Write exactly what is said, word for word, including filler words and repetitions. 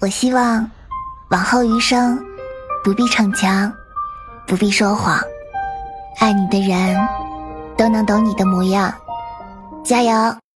我希望往后余生不必逞强，不必说谎，爱你的人都能懂你的模样。加油！